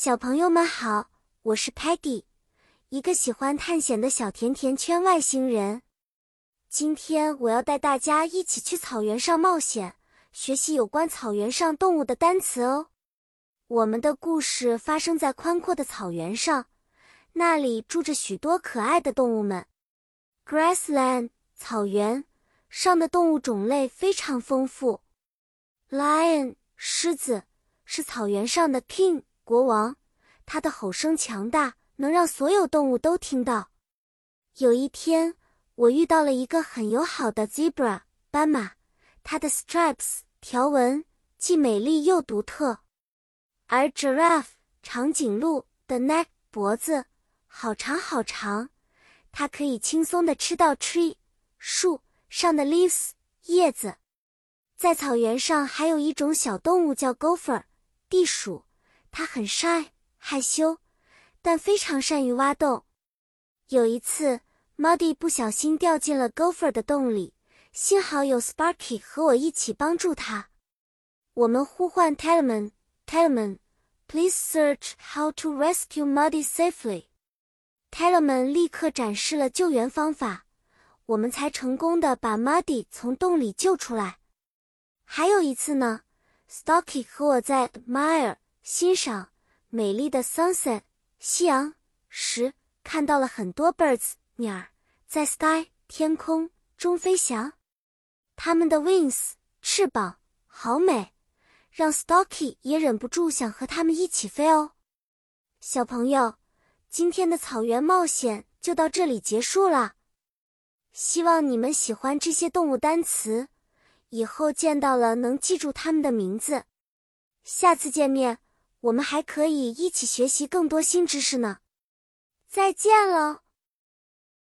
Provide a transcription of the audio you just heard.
小朋友们好，我是 Peggy， 一个喜欢探险的小甜甜圈外星人。今天我要带大家一起去草原上冒险，学习有关草原上动物的单词哦。我们的故事发生在宽阔的草原上，那里住着许多可爱的动物们。Grassland 草原上的动物种类非常丰富。Lion 狮子是草原上的 King 国王，他的吼声强大，能让所有动物都听到。有一天，我遇到了一个很友好的 Zebra 斑马，它的 stripes 条纹既美丽又独特。而 Giraffe 长颈鹿的 neck 脖子好长好长，它可以轻松地吃到 tree 树上的 leaves 叶子。在草原上还有一种小动物叫 Gopher 地鼠，它很 shy 害羞，但非常善于挖洞。有一次 Muddy 不小心掉进了 Gopher 的洞里，幸好有 Sparky 和我一起帮助他。我们呼唤 Talman Please search how to rescue Muddy safely。 Talman 立刻展示了救援方法，我们才成功地把 Muddy 从洞里救出来。还有一次呢， Stocky 和我在 admire 欣赏美丽的 sunset 夕阳时，看到了很多 birds 鸟儿在 sky 天空中飞翔。它们的 wings 翅膀好美，让 Stocky 也忍不住想和它们一起飞哦。小朋友，今天的草原冒险就到这里结束了。希望你们喜欢这些动物单词，以后见到了能记住它们的名字。下次见面，我们还可以一起学习更多新知识呢。再见了。